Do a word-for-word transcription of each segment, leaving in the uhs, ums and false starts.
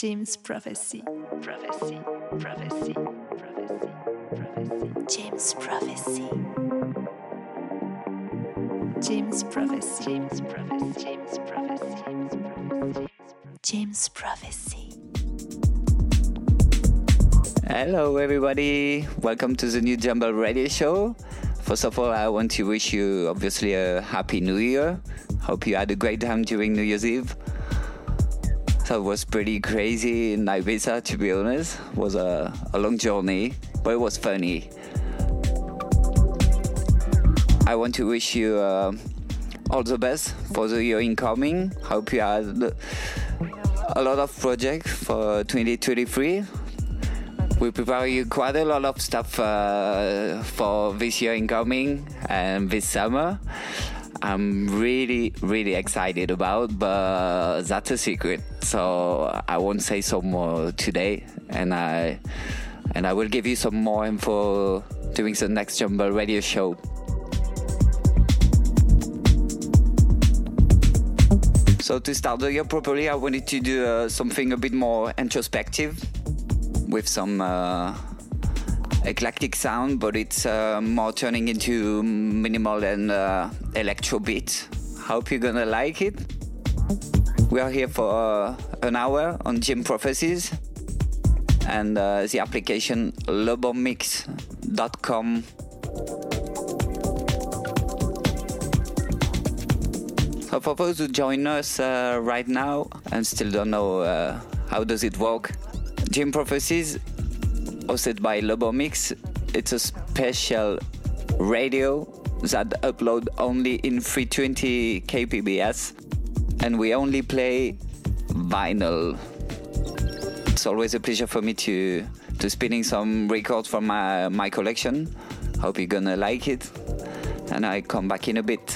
James Prophecy. Prophecy. Prophecy. Prophecy. Prophecy. James Prophecy. James Prophecy. James Prophecy. James Prophecy. James Prophecy. James Prophecy. Hello, everybody. Welcome to the new Jumble Radio Show. First of all, I want to wish you obviously a happy New Year. Hope you had a great time during New Year's Eve. So it was pretty crazy in Ibiza, to be honest. It was a, a long journey, but it was funny. I want to wish you uh, all the best for the year incoming. Hope you had a lot of projects for twenty twenty-three. We prepare you quite a lot of stuff uh, for this year incoming and this summer. I'm really, really excited about, but that's a secret. So I won't say so more today, and I and I will give you some more info during the next Jumble Radio Show. So to start the year properly, I wanted to do uh, something a bit more introspective, with some uh, eclectic sound, but it's uh, more turning into minimal and uh, electro beat. Hope you're gonna like it. We are here for uh, an hour on James Prophecies, and uh, the application lobomix dot com. So for those who join us uh, right now and still don't know uh, how does it work, James Prophecies, hosted by Lobomix, it's a special radio that upload only in three twenty K P B S, and we only play vinyl. It's always a pleasure for me to to spinning some records from my, my collection. Hope you're gonna like it, and I come back in a bit.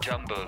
Jumble.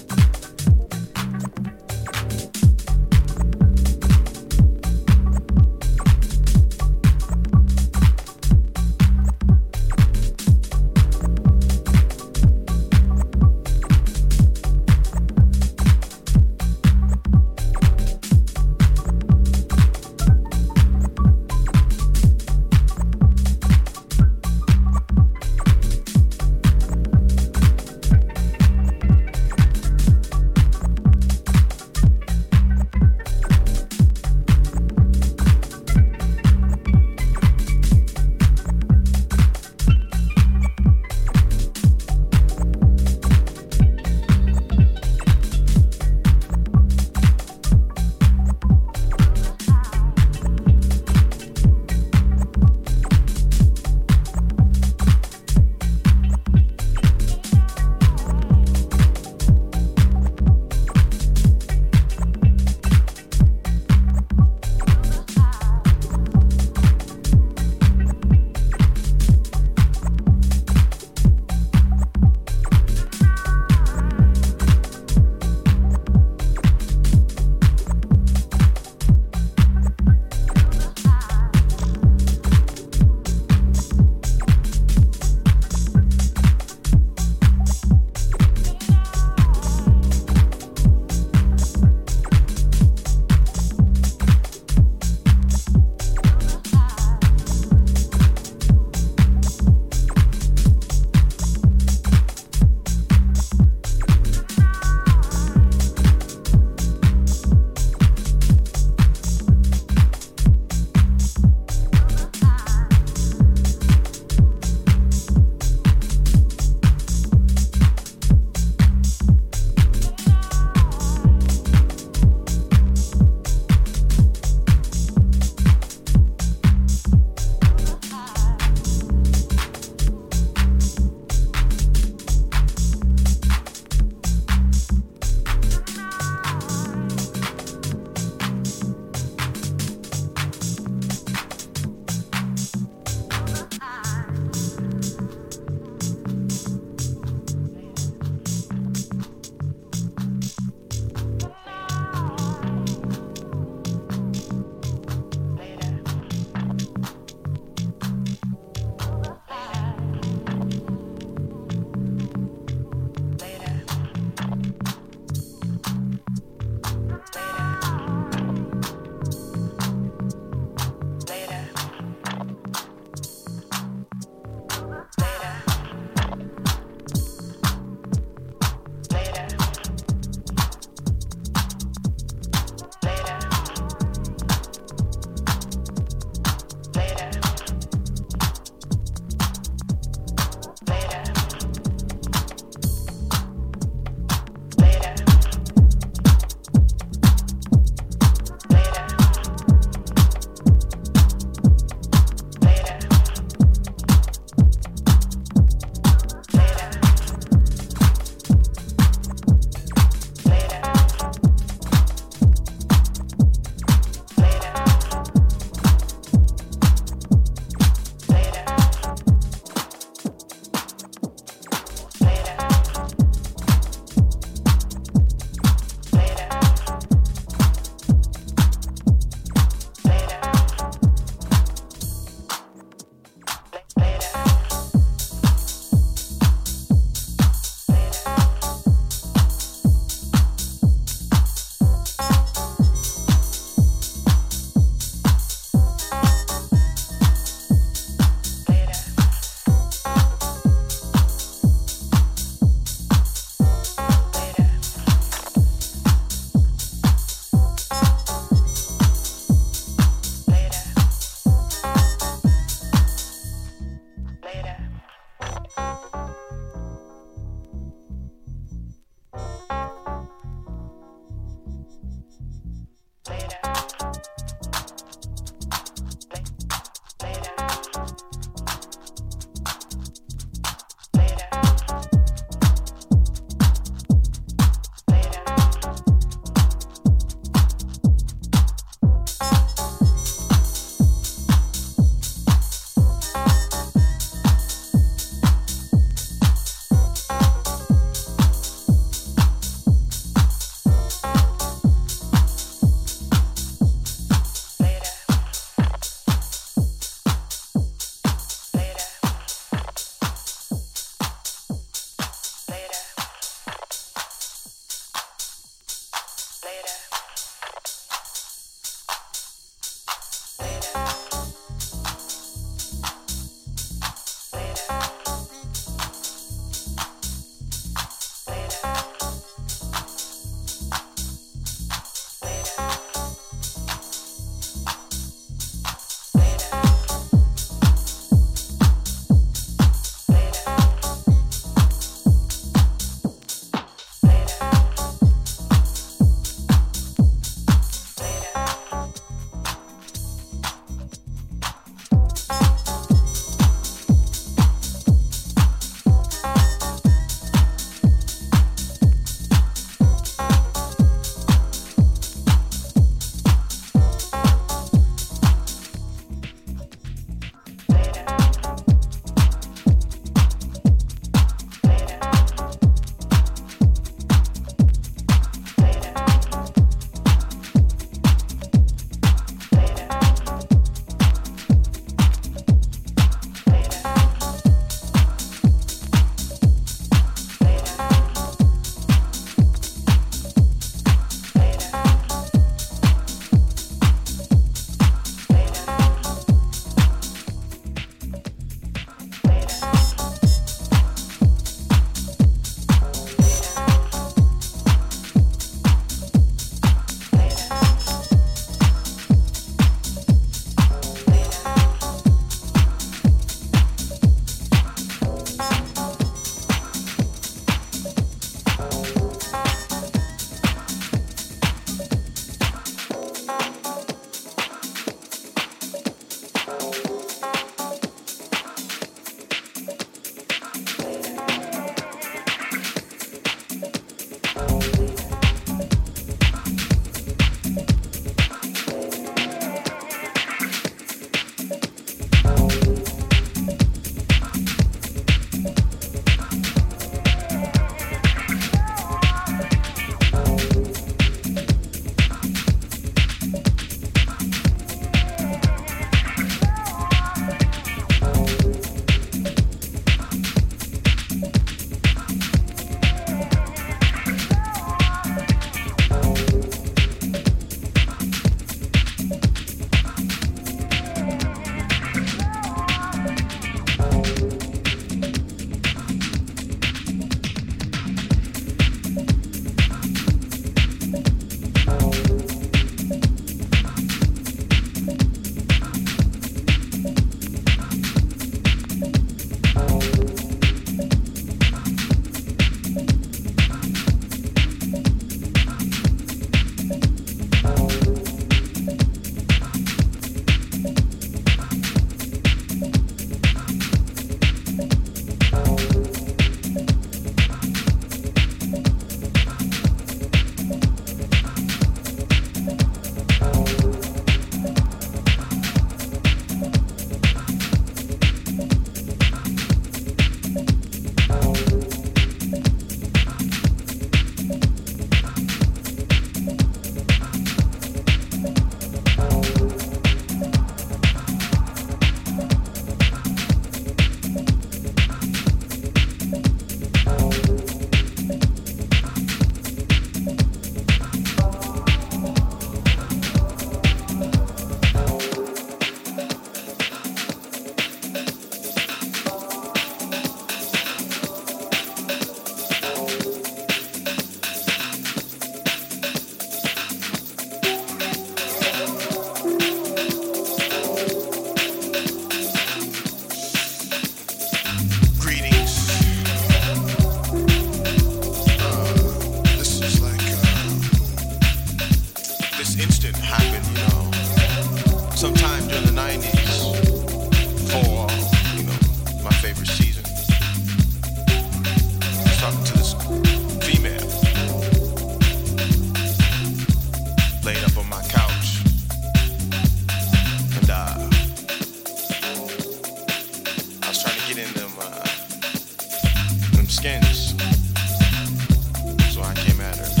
skins. So I came at her.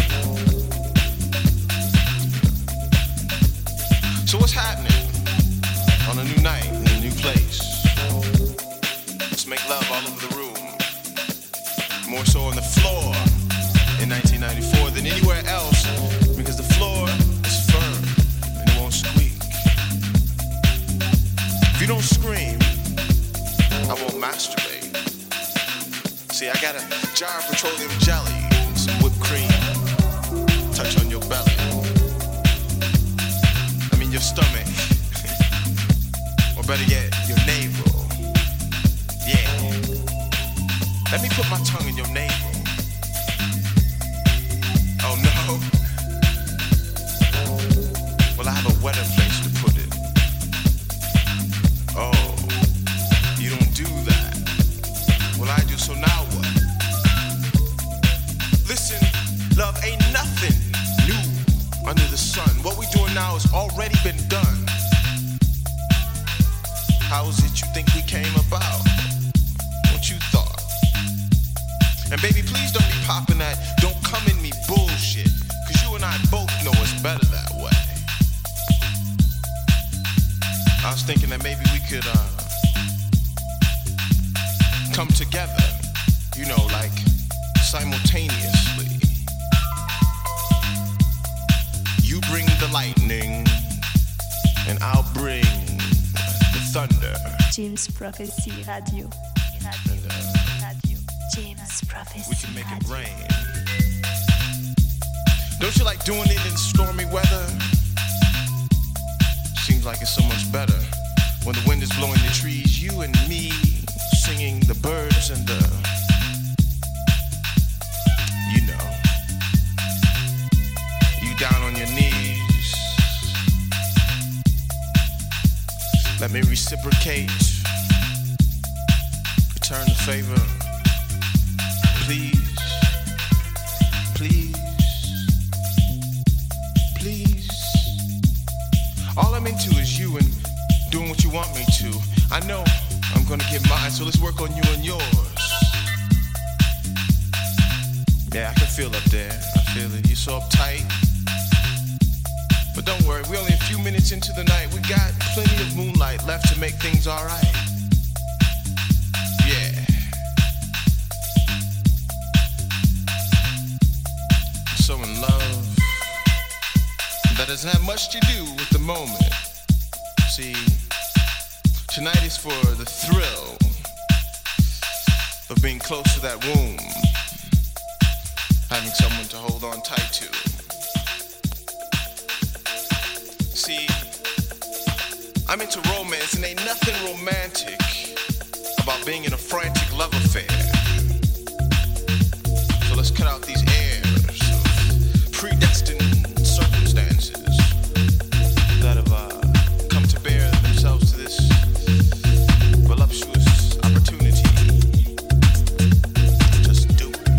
So what's happening on a new night in a new place? Let's make love all over the room. More so on the floor in nineteen ninety-four than anywhere else, because the floor is firm and it won't squeak. If you don't scream, I won't masturbate. See, I got a jar of petroleum jelly and some whipped cream. Touch on your belly. I mean your stomach. Or better yet, your navel. Yeah. Let me put my tongue in your navel. Oh no. Well, I have a wetter place to put it. Oh, you don't do that. Well, I do, so now what? Listen, love, ain't nothing new under the sun. What we doing now has already been done. How is it you think we came about? What you thought? And baby, please don't be popping that don't come in me bullshit, cause you and I both know it's better that way. I was thinking that maybe we could uh, come together, you know, like simultaneously. You bring the lightning, and I'll bring the thunder. James Prophecy Radio. Radio. And, uh, Radio. James Prophecy we can make Radio. it rain. Don't you like doing it in stormy weather? Seems like it's so much better when the wind is blowing the trees, you and me singing the birds and the, you know, you down on your knees. Let me reciprocate, return the favor, please, please, please. All I'm into is you and doing what you want me to. I know I'm gonna get mine, so let's work on you and yours. Yeah, I can feel up there. I feel it. You're so uptight. But don't worry, we're only a few minutes into the night. We got plenty of moonlight left to make things alright. Yeah. So in love, that doesn't have much to do with the moment. See, tonight is for the thrill of being close to that womb, having someone to hold on tight to. See, I'm into romance, and ain't nothing romantic about being in a frantic love affair. So let's cut out these airs of predestined circumstances that have uh, come to bear themselves to this voluptuous opportunity. Just do it.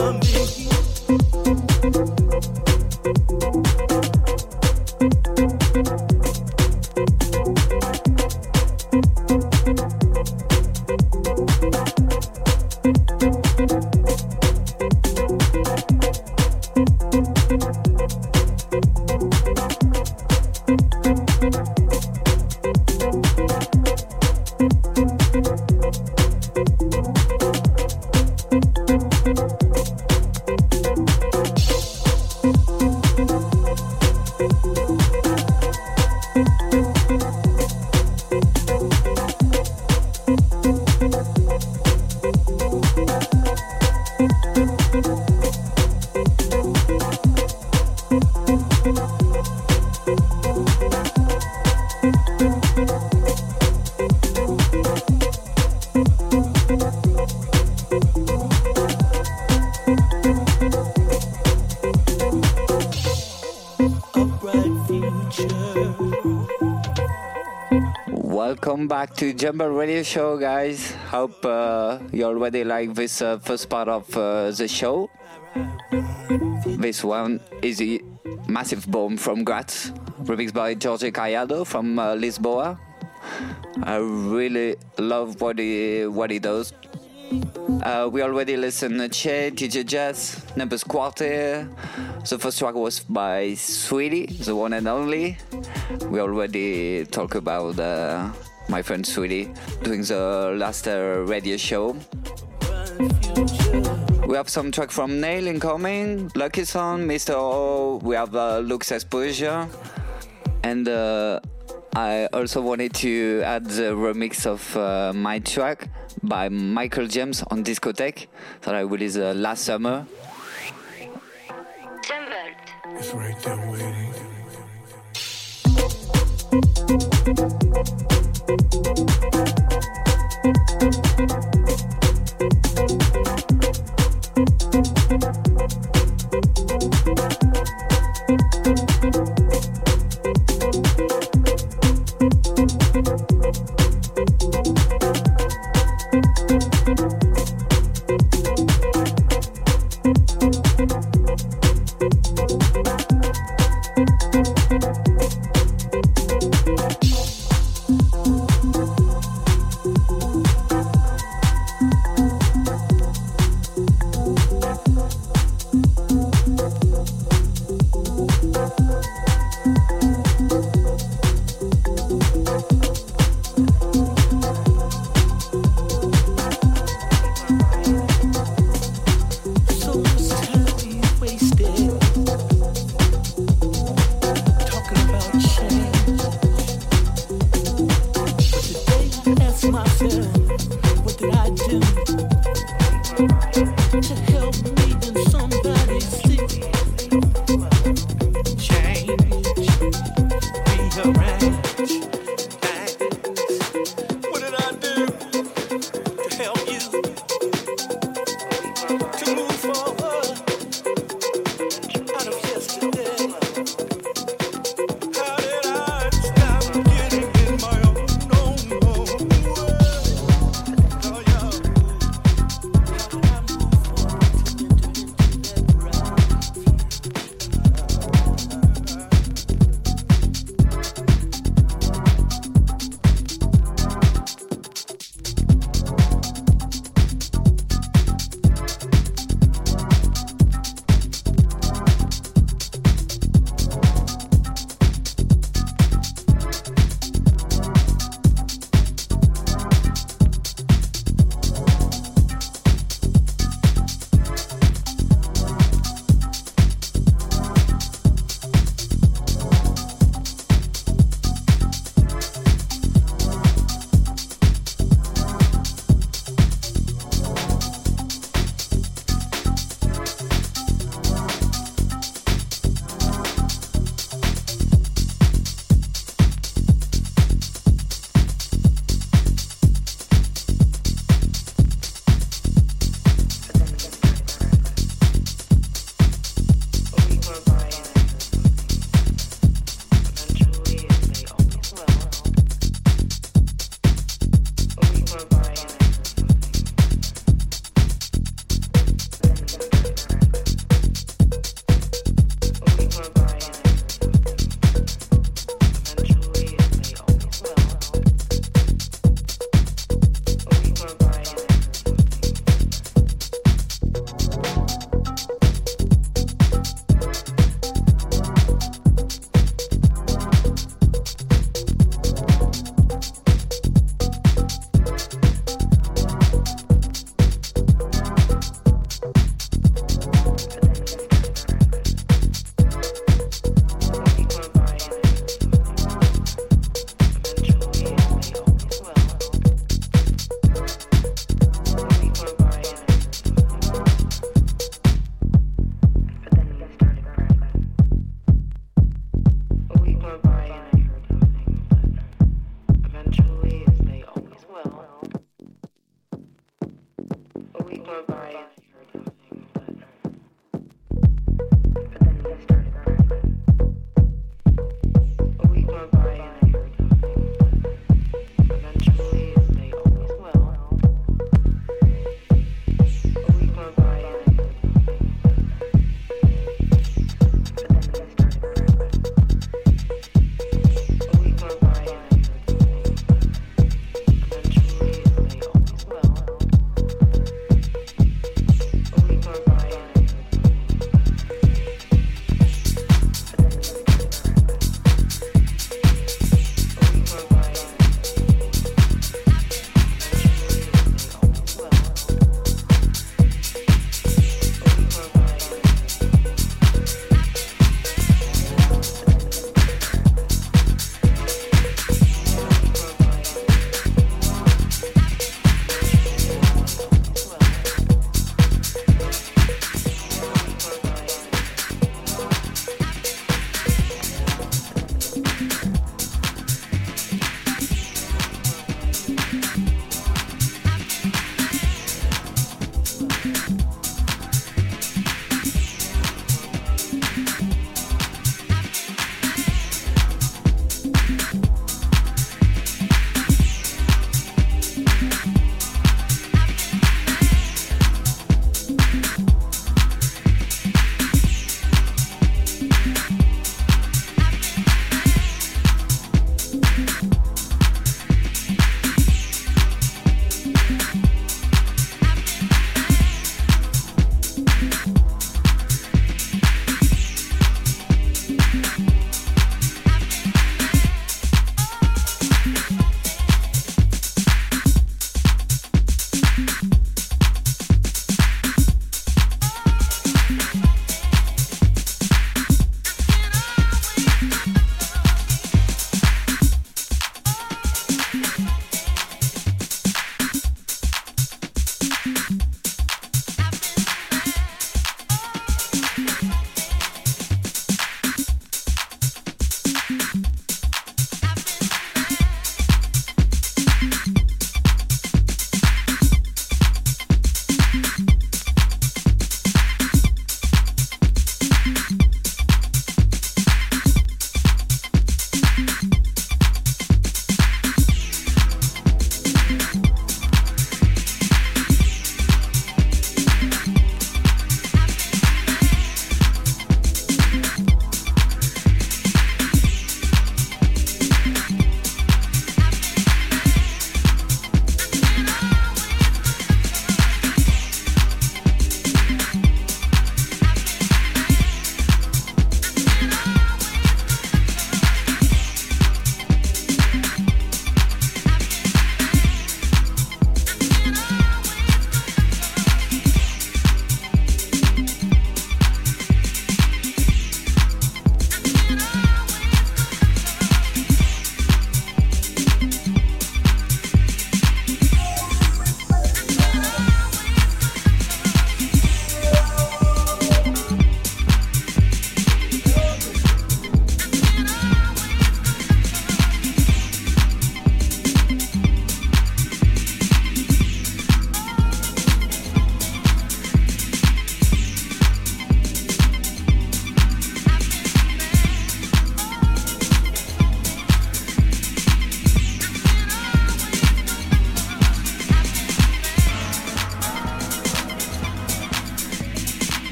Welcome back to Jumbo Radio Show, guys. Hope uh, you already like this uh, first part of uh, the show. This one is a massive bomb from Graz, remixed by Jorge Caiado from uh, Lisboa. I really love what he what he does. Uh, we already listened to Che, D J Jazz, Numbers Quartet. The first track was by Sweetie, the one and only. We already talked about uh, my friend Sweetie doing the last uh, radio show. We have some track from Nail incoming, Lucky Son, Mister O. We have uh, Lux Exposure. And uh, I also wanted to add the remix of uh, my track by Michael James on Discotheque that I released uh, last summer. It's right there waiting.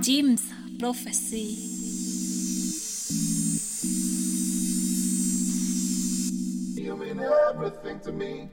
Jim's Prophecy. You mean everything to me.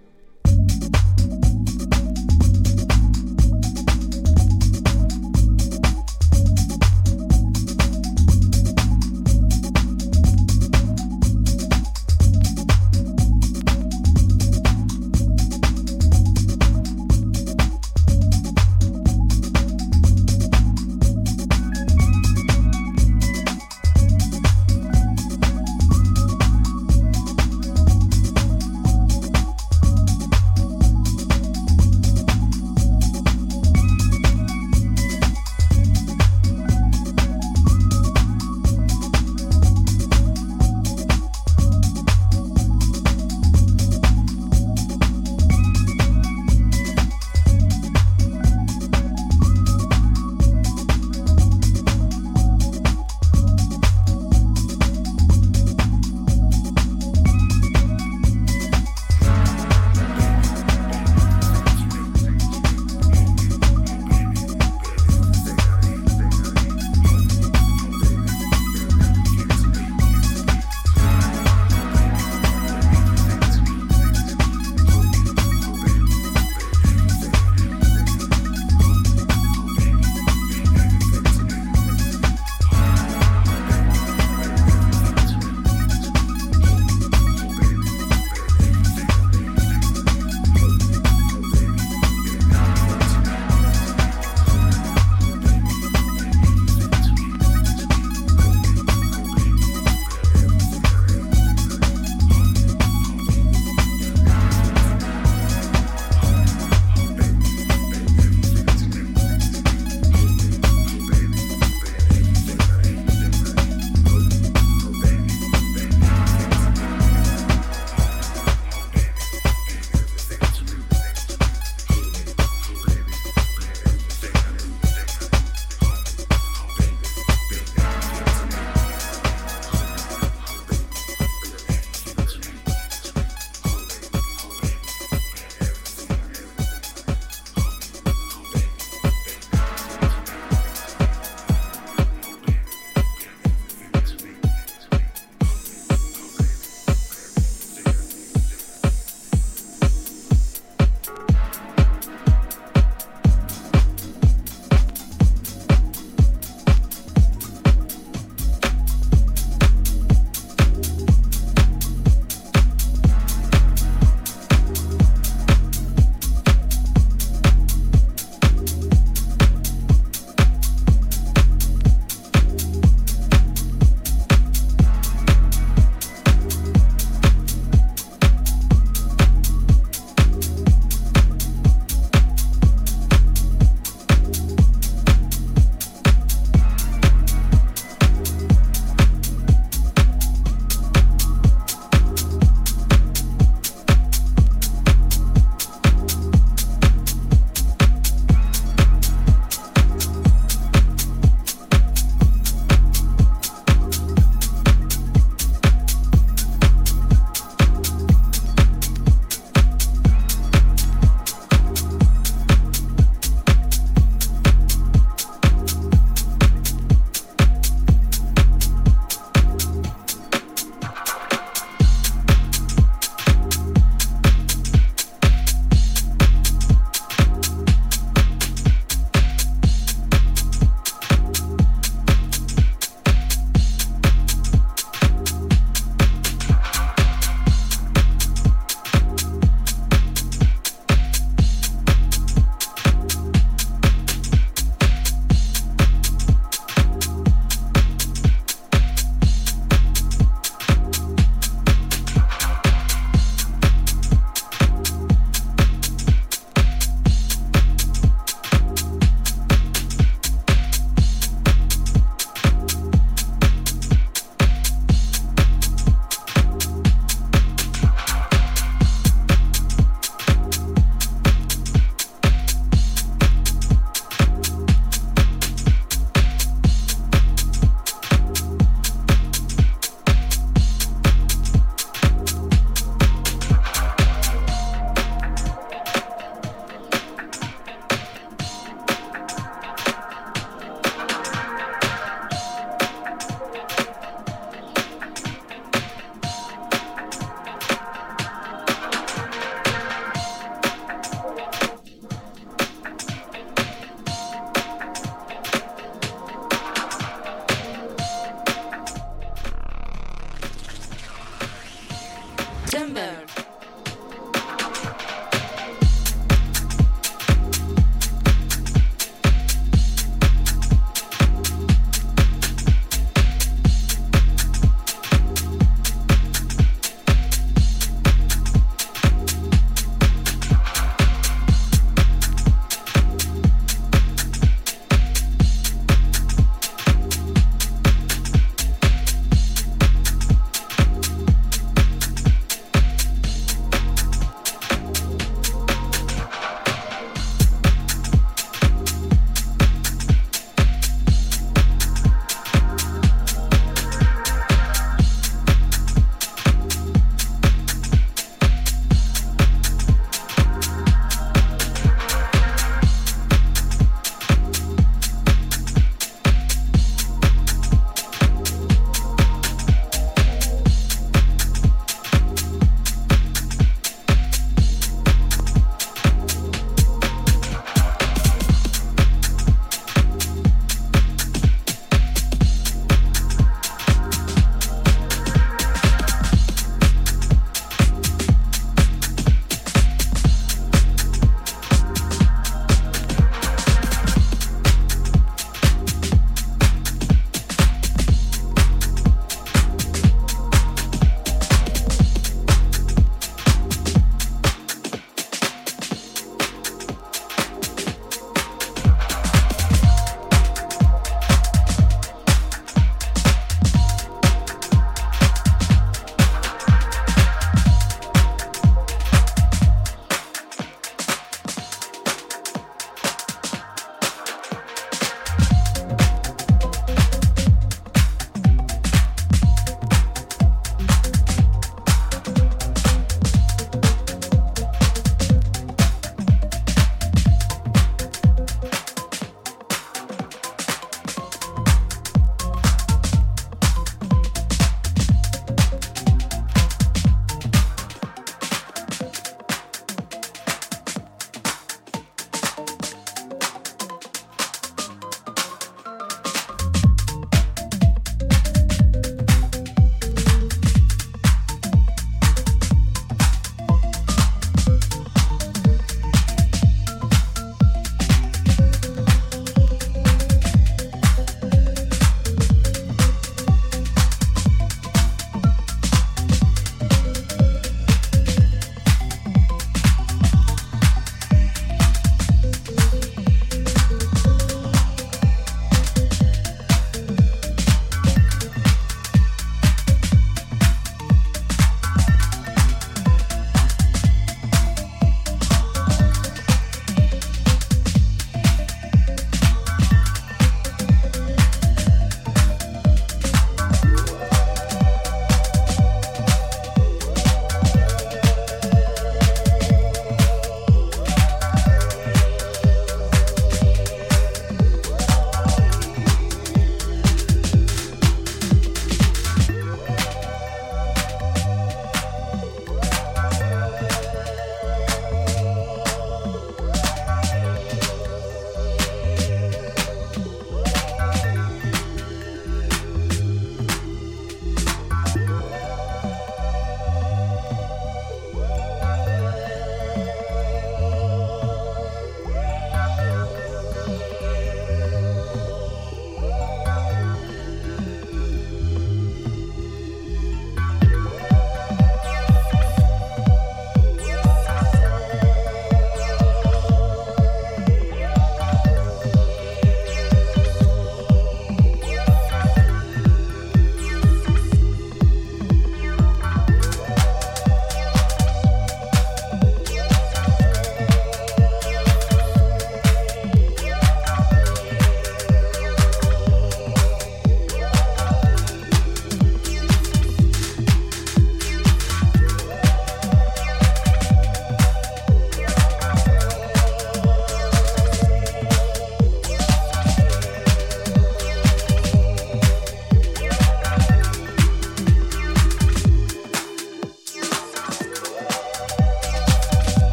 September.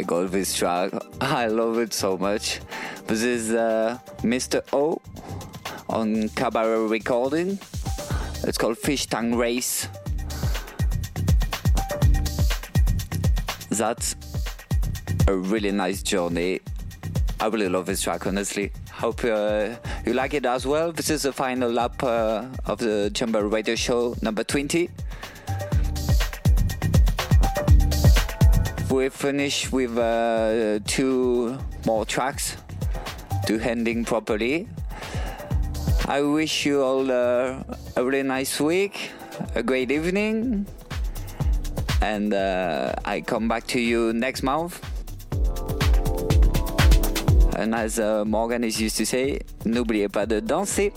my god, this track. I love it so much. This is uh, Mister O on Cabaret Recording. It's called Fish Tank Race. That's a really nice journey. I really love this track, honestly. Hope uh, you like it as well. This is the final lap uh, of the Chamber Radio Show number twenty. We finish with uh, two more tracks to ending properly. I wish you all uh, a really nice week, a great evening, and uh, I come back to you next month. And as uh, Morgan is used to say, n'oubliez pas de danser.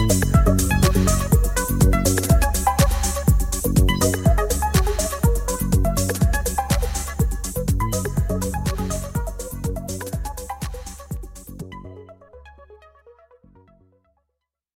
Thank